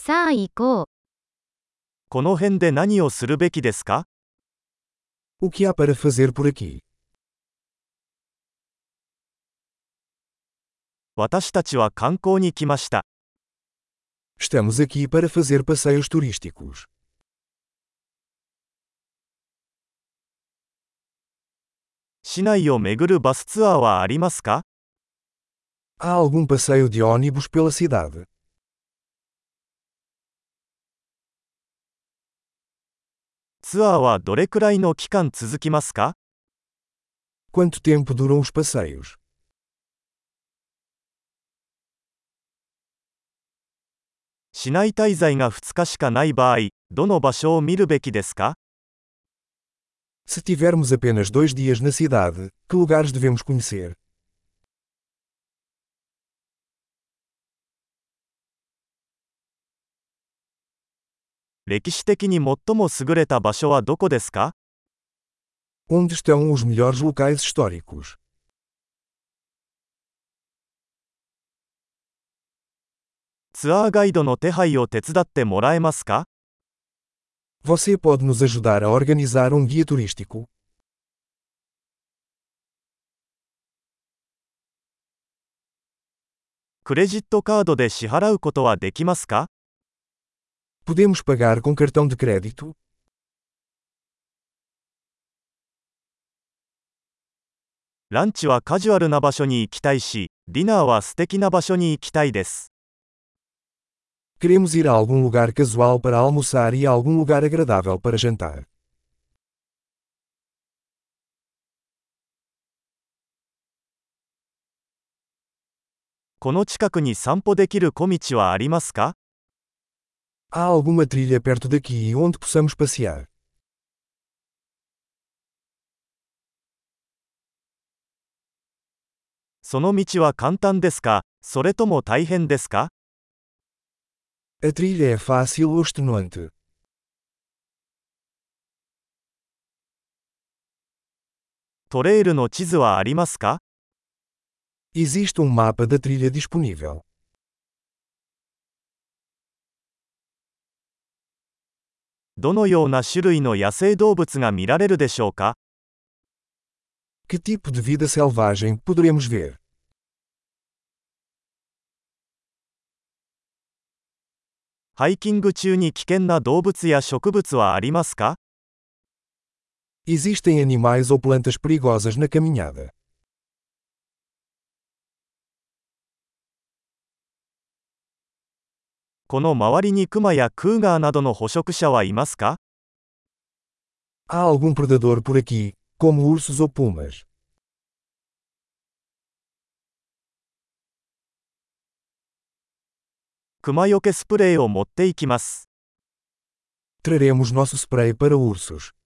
さあ行こう。 この辺で何をするべきですか？ O que há para fazer por aqui? 私たちは観光に来ました。 Estamos aqui para fazer passeios turísticos. 市内を巡るバスツアーはありますか？ Há algum passeio de ônibus pela cidade? ツアーはどれくらいの期間続きますか？ Quanto tempo duram os passeios? 市内滞在が2日しかない場合、どの場所を見るべきですか？ Se tivermos apenas 2 dias na cidade, que lugares devemos conhecer? 歴史的に最も優れた場所はどこですか？ Onde estão os melhores locais históricos? ツアーガイドの手配を手伝ってもらえますか？ Você pode nos ajudar a organizar guia turístico? クレジットカードで支払うことはできますか？ Podemos pagar com cartão de crédito? ランチはカジュアルな場所に行きたいし、ディナーは素敵な場所に行きたいです。 Queremos ir a algum lugar casual para almoçar e a algum lugar agradável para jantar. この近くに散歩できる小道はありますか？ Há alguma trilha perto daqui onde possamos passear? その道は簡単ですか、それとも大変ですか？ A trilha é fácil ou extenuante? トレイルの地図はありますか？ Existe mapa da trilha disponível. どのような種類の野生動物が見られるでしょうか？ Que tipo de vida selvagem poderemos ver? ハイキング中に危険な動物や植物はありますか？ Existem animais ou plantas perigosas na caminhada. この周りにクマやクーガーなどの捕食者はいますか？ Há algum predador por aqui, como ursos ou pumas? クマよけスプレーを持っていきます。 Traremos nosso spray para ursos.